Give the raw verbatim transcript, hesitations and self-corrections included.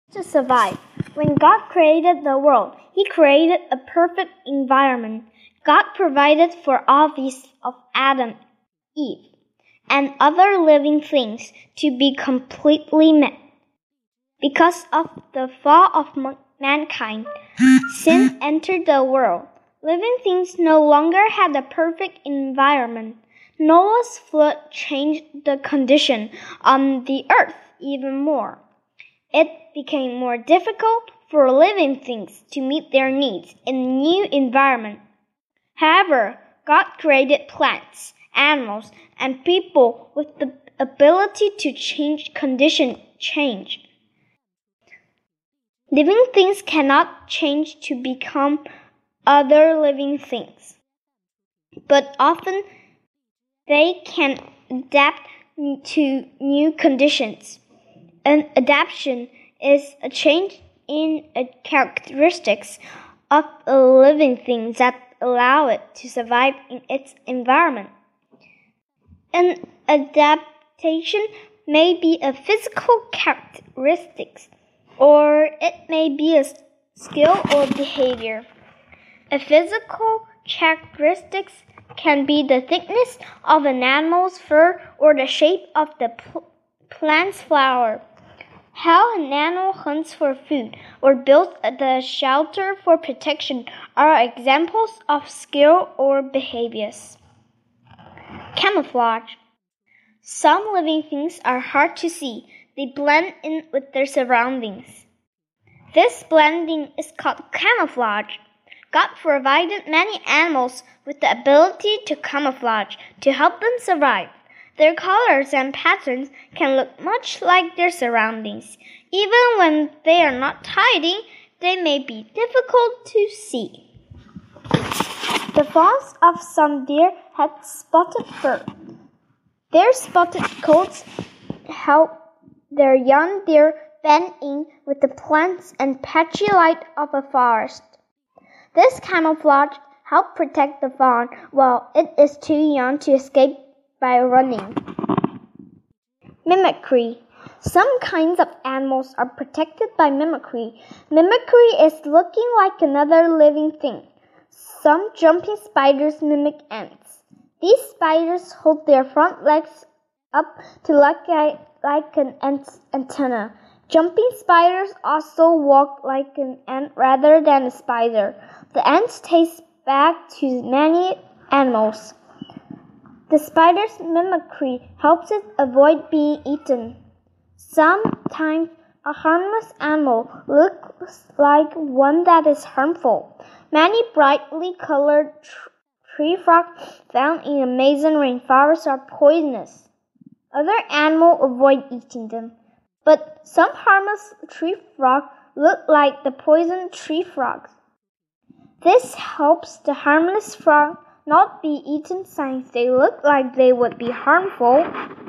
to survive. When God created the world, He created a perfect environment. God provided for all these of Adam, Eve, and other living things to be completely met. Because of the fall of mankind, sin entered the world. Living things no longer had a perfect environment. Noah's flood changed the condition on the earth even more. It became more difficult for living things to meet their needs in a new environment. However, God created plants, animals, and people with the ability to change condition change. Living things cannot change to become other living things, but often they can adapt to new conditions. An adaptation is a change in a characteristics of a living thing that allow it to survive in its environment. An adaptation may be a physical characteristic, or it may be a skill or behavior. A physical characteristic can be the thickness of an animal's fur or the shape of the pl- plant's flower. How an animal hunts for food or builds the shelter for protection are examples of skill or behaviors. Camouflage. Some living things are hard to see. They blend in with their surroundings. This blending is called camouflage. God provided many animals with the ability to camouflage to help them survive. Their colors and patterns can look much like their surroundings. Even when they are not hiding, they may be difficult to see. The fawns of some deer had spotted fur. Their spotted coats help their young deer blend in with the plants and patchy light of a forest. This camouflage helps protect the fawn while it is too young to escape by running. Mimicry. Some kinds of animals are protected by mimicry. Mimicry is looking like another living thing. Some jumping spiders mimic ants. These spiders hold their front legs up to look like, like an ant's antenna. Jumping spiders also walk like an ant rather than a spider. The ants taste back to many animals. The spider's mimicry helps it avoid being eaten. Sometimes a harmless animal looks like one that is harmful. Many brightly colored tr- tree frogs found in Amazon rainforest are poisonous. Other animals avoid eating them, but some harmless tree frogs look like the poisoned tree frogs. This helps the harmless frog not be eaten since they look like they would be harmful.